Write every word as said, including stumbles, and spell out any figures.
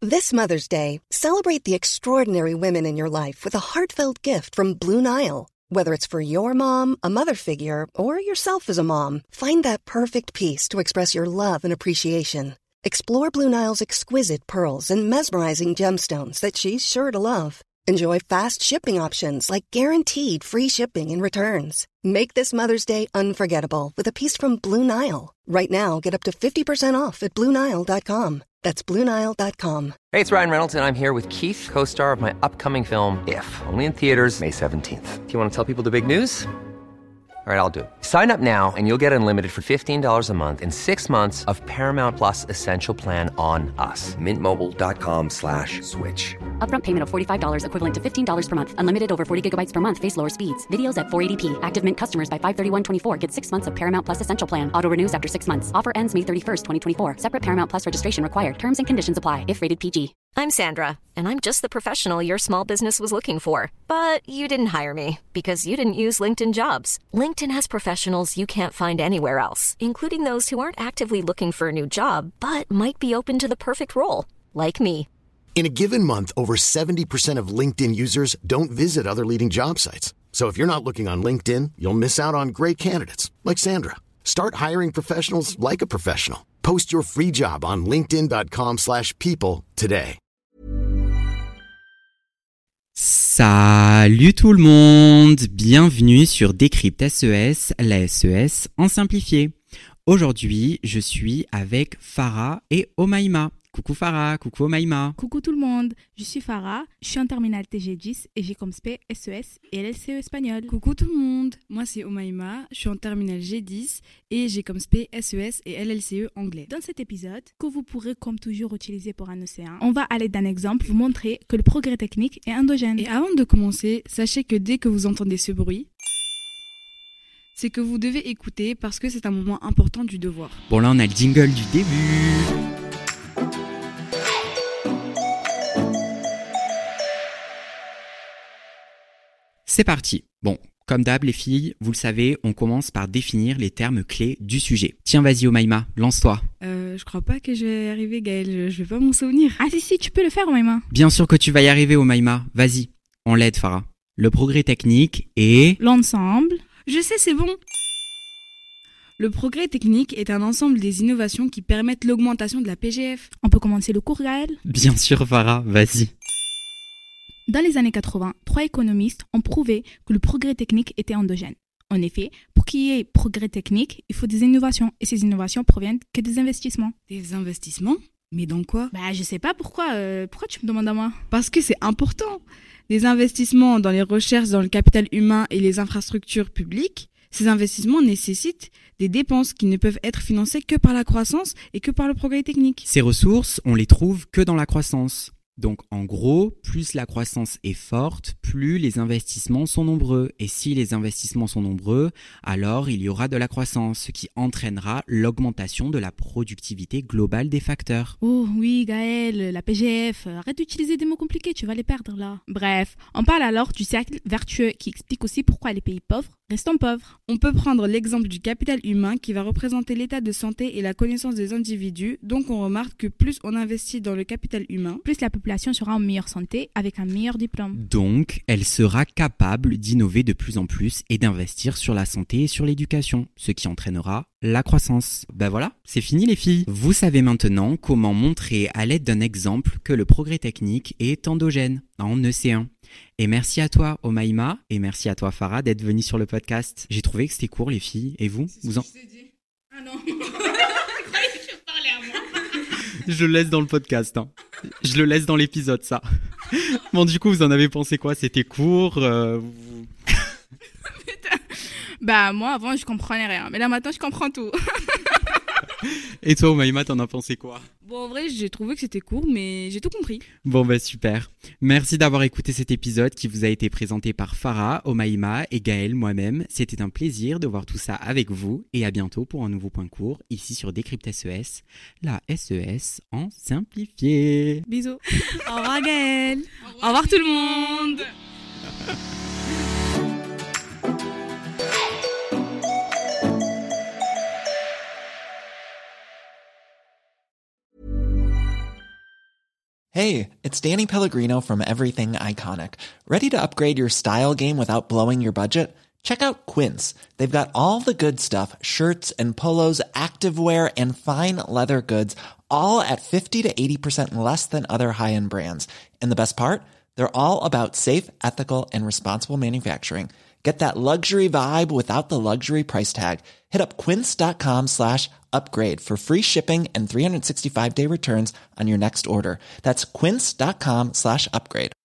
This Mother's Day, celebrate the extraordinary women in your life with a heartfelt gift from Blue Nile. Whether it's for your mom, a mother figure, or yourself as a mom, find that perfect piece to express your love and appreciation. Explore Blue Nile's exquisite pearls and mesmerizing gemstones that she's sure to love. Enjoy fast shipping options like guaranteed free shipping and returns. Make this Mother's Day unforgettable with a piece from Blue Nile. Right now, get up to fifty percent off at Blue Nile dot com. That's Blue Nile dot com. Hey, it's Ryan Reynolds, and I'm here with Keith, co-star of my upcoming film, If, only in theaters May seventeenth. Do you want to tell people the big news? All right, I'll do it. Sign up now and you'll get unlimited for fifteen dollars a month and six months of Paramount Plus Essential Plan on us. Mint Mobile dot com slash switch. Upfront payment of forty-five dollars equivalent to fifteen dollars per month. Unlimited over forty gigabytes per month. Face lower speeds. Videos at four eighty p. Active Mint customers by five thirty-one twenty-four get six months of Paramount Plus Essential Plan. Auto renews after six months. Offer ends May thirty-first, twenty twenty-four. Separate Paramount Plus registration required. Terms and conditions apply if rated P G. I'm Sandra, and I'm just the professional your small business was looking for. But you didn't hire me because you didn't use LinkedIn Jobs. LinkedIn has professionals you can't find anywhere else, including those who aren't actively looking for a new job, but might be open to the perfect role, like me. In a given month, over seventy percent of LinkedIn users don't visit other leading job sites. So if you're not looking on LinkedIn, you'll miss out on great candidates like Sandra. Start hiring professionals like a professional. Post your free job on linkedin dot com slash people today. Salut tout le monde, bienvenue sur Décrypte S E S, la S E S en simplifié. Aujourd'hui, je suis avec Farah et Omaima. Coucou Farah, coucou Omaima. Coucou tout le monde, je suis Farah, je suis en terminale T G dix et j'ai comme spé S E S et L L C E espagnol. Coucou tout le monde, moi c'est Omaima, je suis en terminale G dix et j'ai comme spé S E S et L L C E anglais. Dans cet épisode, que vous pourrez comme toujours utiliser pour un E C un, on va à l'aide d'un exemple vous montrer que le progrès technique est endogène. Et avant de commencer, sachez que dès que vous entendez ce bruit, c'est que vous devez écouter parce que c'est un moment important du devoir. Bon là on a le jingle du début. C'est parti. Bon, comme d'hab les filles, vous le savez, on commence par définir les termes clés du sujet. Tiens, vas-y Omaima, lance-toi. Euh, je crois pas que je vais y arriver Gaëlle, je, je vais pas m'en souvenir. Ah si si, tu peux le faire Omaima. Bien sûr que tu vas y arriver Omaima, vas-y, on l'aide Farah. Le progrès technique est... L'ensemble. Je sais, c'est bon. Le progrès technique est un ensemble des innovations qui permettent l'augmentation de la P G F. On peut commencer le cours Gaëlle ? Bien sûr Farah, vas-y. Dans les années quatre-vingts, trois économistes ont prouvé que le progrès technique était endogène. En effet, pour qu'il y ait progrès technique, il faut des innovations. Et ces innovations proviennent que des investissements. Des investissements ? Mais dans quoi ? Bah, je sais pas pourquoi. Euh, pourquoi tu me demandes à moi ? Parce que c'est important. Des investissements dans les recherches, dans le capital humain et les infrastructures publiques, ces investissements nécessitent des dépenses qui ne peuvent être financées que par la croissance et que par le progrès technique. Ces ressources, on les trouve que dans la croissance. Donc en gros, plus la croissance est forte, plus les investissements sont nombreux. Et si les investissements sont nombreux, alors il y aura de la croissance, ce qui entraînera l'augmentation de la productivité globale des facteurs. Oh oui Gaëlle, la P G F, arrête d'utiliser des mots compliqués, tu vas les perdre là. Bref, on parle alors du cercle vertueux qui explique aussi pourquoi les pays pauvres restent pauvres. On peut prendre l'exemple du capital humain qui va représenter l'état de santé et la connaissance des individus. Donc on remarque que plus on investit dans le capital humain, plus la population sera en meilleure santé avec un meilleur diplôme. Donc, elle sera capable d'innover de plus en plus et d'investir sur la santé et sur l'éducation, ce qui entraînera la croissance. Ben voilà, c'est fini les filles. Vous savez maintenant comment montrer à l'aide d'un exemple que le progrès technique est endogène en E C un. Et merci à toi Omaima et merci à toi Farah d'être venue sur le podcast. J'ai trouvé que c'était court les filles. Et vous, c'est vous en... je t'ai dit. Ah non. Je croyais que tu parlais à moi. Je le laisse dans le podcast. Hein. Je le laisse dans l'épisode ça. Bon du coup vous en avez pensé quoi ? C'était court euh... Putain. Bah moi avant je comprenais rien. Mais là maintenant je comprends tout. Et toi Omaima, t'en as pensé quoi ? Bon, en vrai, j'ai trouvé que c'était court, mais j'ai tout compris. Bon bah super. Merci d'avoir écouté cet épisode qui vous a été présenté par Farah, Omaima et Gaëlle moi-même. C'était un plaisir de voir tout ça avec vous et à bientôt pour un nouveau point court ici sur Décrypte S E S, la S E S en simplifié. Bisous. Au revoir Gaëlle. Au revoir tout le monde. Hey, it's Danny Pellegrino from Everything Iconic. Ready to upgrade your style game without blowing your budget? Check out Quince. They've got all the good stuff, shirts and polos, activewear, and fine leather goods, all at fifty to eighty percent less than other high-end brands. And the best part? They're all about safe, ethical, and responsible manufacturing. Get that luxury vibe without the luxury price tag. Hit up quince.com slash upgrade for free shipping and three sixty-five day returns on your next order. That's quince.com slash upgrade.